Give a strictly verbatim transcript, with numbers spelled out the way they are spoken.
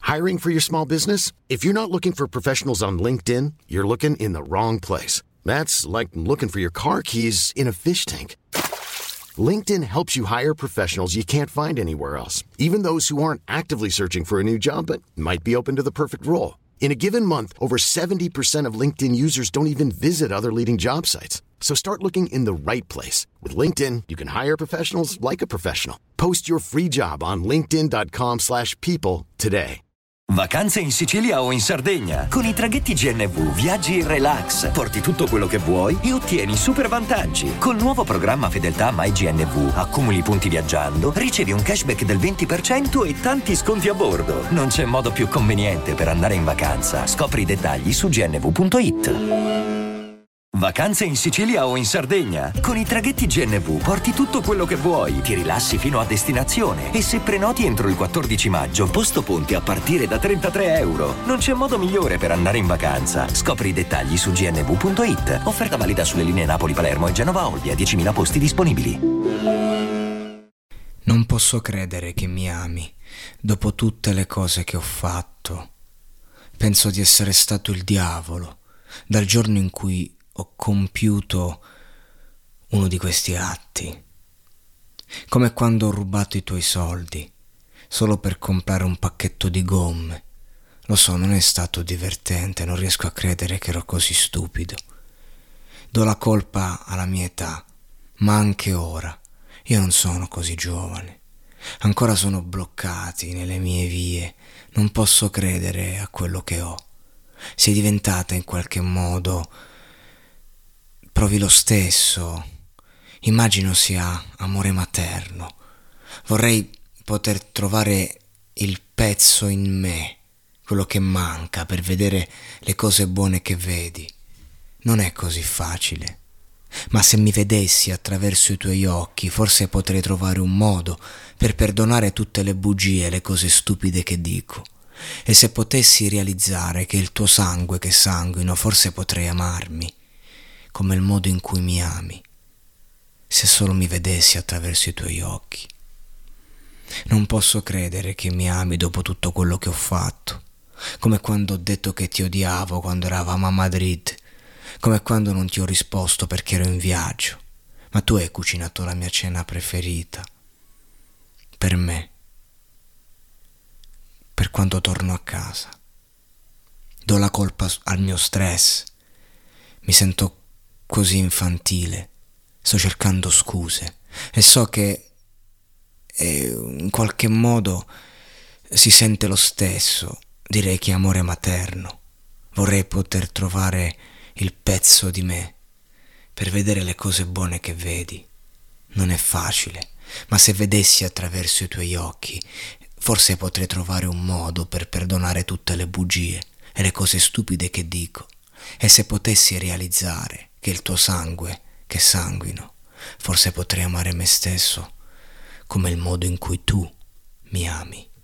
Hiring for your small business? If you're not looking for professionals on LinkedIn, you're looking in the wrong place. That's like looking for your car keys in a fish tank. LinkedIn helps you hire professionals you can't find anywhere else, even those who aren't actively searching for a new job but might be open to the perfect role. In a given month, over seventy percent of LinkedIn users don't even visit other leading job sites. So start looking in the right place. With LinkedIn, you can hire professionals like a professional. Post your free job on linkedin.com slash people today. Vacanze in Sicilia o in Sardegna. Con i traghetti G N V viaggi in relax, porti tutto quello che vuoi e ottieni super vantaggi. Col nuovo programma Fedeltà MyGNV accumuli punti viaggiando, ricevi un cashback del venti per cento e tanti sconti a bordo. Non c'è modo più conveniente per andare in vacanza. Scopri i dettagli su g n v punto i t. Vacanze in Sicilia o in Sardegna. Con i traghetti G N V porti tutto quello che vuoi, ti rilassi fino a destinazione e se prenoti entro il quattordici maggio, posto ponti a partire da trentatré euro. Non c'è modo migliore per andare in vacanza. Scopri i dettagli su g n v punto i t. Offerta valida sulle linee Napoli-Palermo e Genova-Olbia, diecimila posti disponibili. Non posso credere che mi ami, dopo tutte le cose che ho fatto. Penso di essere stato il diavolo, dal giorno in cui ho compiuto uno di questi atti, come quando ho rubato i tuoi soldi solo per comprare un pacchetto di gomme. Lo so, non è stato divertente, non riesco a credere che ero così stupido. Do la colpa alla mia età, ma anche ora io non sono così giovane, ancora sono bloccati nelle mie vie, non posso credere a quello che ho. Sei diventata in qualche modo. Provi lo stesso, immagino sia amore materno. Vorrei poter trovare il pezzo in me, quello che manca per vedere le cose buone che vedi. Non è così facile, ma se mi vedessi attraverso i tuoi occhi, forse potrei trovare un modo per perdonare tutte le bugie e le cose stupide che dico. E se potessi realizzare che è il tuo sangue che sanguino, forse potrei amarmi come il modo in cui mi ami, se solo mi vedessi attraverso i tuoi occhi. Non posso credere che mi ami dopo tutto quello che ho fatto, come quando ho detto che ti odiavo quando eravamo a Madrid, come quando non ti ho risposto perché ero in viaggio, ma tu hai cucinato la mia cena preferita, per me, per quando torno a casa. Do la colpa al mio stress, mi sento così infantile, sto cercando scuse e so che eh, in qualche modo si sente lo stesso. Direi che è amore materno. Vorrei poter trovare il pezzo di me per vedere le cose buone che vedi. Non è facile, ma se vedessi attraverso i tuoi occhi, forse potrei trovare un modo per perdonare tutte le bugie e le cose stupide che dico. E se potessi realizzare che il tuo sangue che sanguino, forse potrei amare me stesso come il modo in cui tu mi ami.